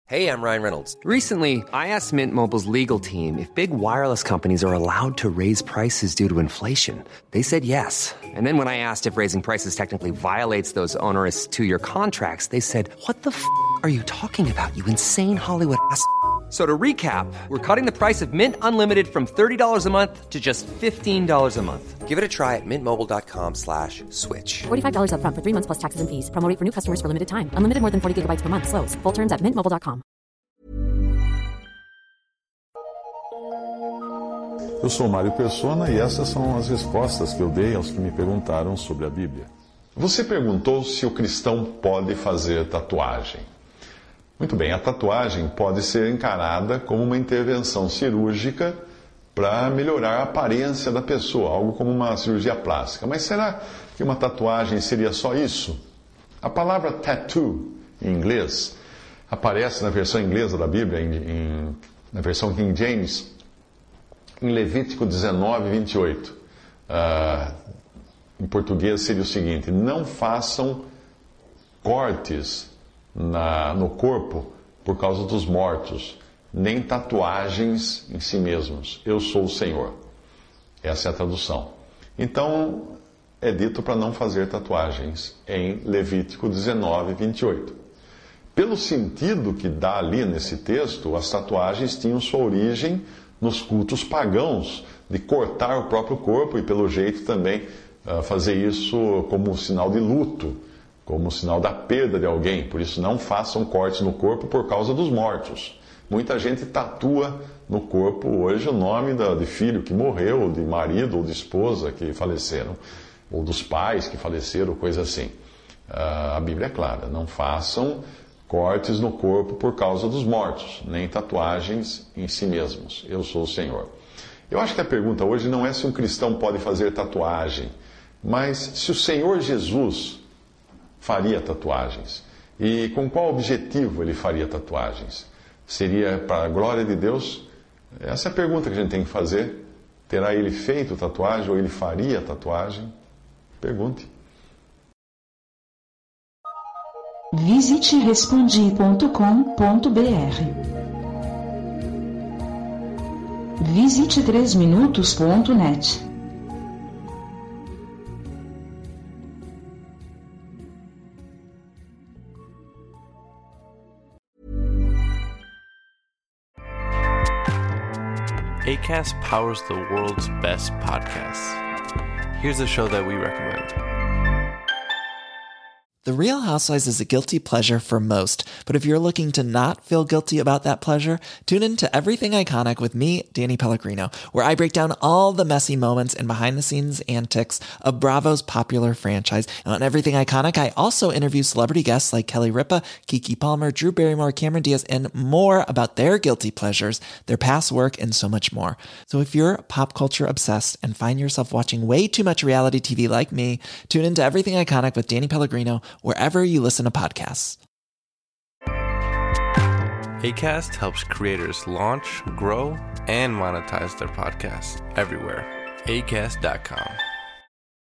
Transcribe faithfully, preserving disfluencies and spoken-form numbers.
Hey, I'm Ryan Reynolds. Recently, I asked Mint Mobile's legal team if big wireless companies are allowed to raise prices due to inflation. They said yes. And then when I asked if raising prices technically violates those onerous two-year contracts, they said, what the f*** are you talking about, you insane Hollywood ass f- So to recap, we're cutting the price of Mint Unlimited from thirty dollars a month to just fifteen dollars a month. Give it a try at mintmobile.com slash switch. forty-five dollars up front for three months plus taxes and fees. Promo rate for new customers for limited time. Unlimited more than forty gigabytes per month. Slows full terms at mint mobile dot com. Eu sou Mário Persona e essas são as respostas que eu dei aos que me perguntaram sobre a Bíblia. Você perguntou se o cristão pode fazer tatuagem. Muito bem, a tatuagem pode ser encarada como uma intervenção cirúrgica para melhorar a aparência da pessoa, algo como uma cirurgia plástica. Mas será que uma tatuagem seria só isso? A palavra tattoo, em inglês, aparece na versão inglesa da Bíblia, em, em, na versão King James, em Levítico dezenove, vinte e oito. Uh, em português seria o seguinte: não façam cortes Na, no corpo por causa dos mortos, nem tatuagens em si mesmos. Eu sou o Senhor. Essa é a tradução. Então, é dito para não fazer tatuagens em Levítico dezenove, vinte e oito. Pelo sentido que dá ali nesse texto, as tatuagens tinham sua origem nos cultos pagãos, de cortar o próprio corpo e, pelo jeito, também uh, fazer isso como um sinal de luto, como sinal da perda de alguém. Por isso, não façam cortes no corpo por causa dos mortos. Muita gente tatua no corpo hoje o nome de filho que morreu, de marido ou de esposa que faleceram, ou dos pais que faleceram, coisa assim. A Bíblia é clara: não façam cortes no corpo por causa dos mortos, nem tatuagens em si mesmos. Eu sou o Senhor. Eu acho que a pergunta hoje não é se um cristão pode fazer tatuagem, mas se o Senhor Jesus faria tatuagens. E com qual objetivo ele faria tatuagens? Seria para a glória de Deus? Essa é a pergunta que a gente tem que fazer. Terá ele feito tatuagem ou ele faria tatuagem? Pergunte. Visite respondi ponto com ponto br. Visite três minutos ponto net. Acast powers the world's best podcasts. Here's a show that we recommend. The Real Housewives is a guilty pleasure for most, but if you're looking to not feel guilty about that pleasure, tune in to Everything Iconic with me, Danny Pellegrino, where I break down all the messy moments and behind-the-scenes antics of Bravo's popular franchise. And on Everything Iconic, I also interview celebrity guests like Kelly Ripa, Keke Palmer, Drew Barrymore, Cameron Diaz, and more about their guilty pleasures, their past work, and so much more. So if you're pop culture obsessed and find yourself watching way too much reality T V like me, tune into Everything Iconic with Danny Pellegrino, wherever you listen to podcasts. Acast helps creators launch, grow, and monetize their podcasts everywhere. Acast dot com.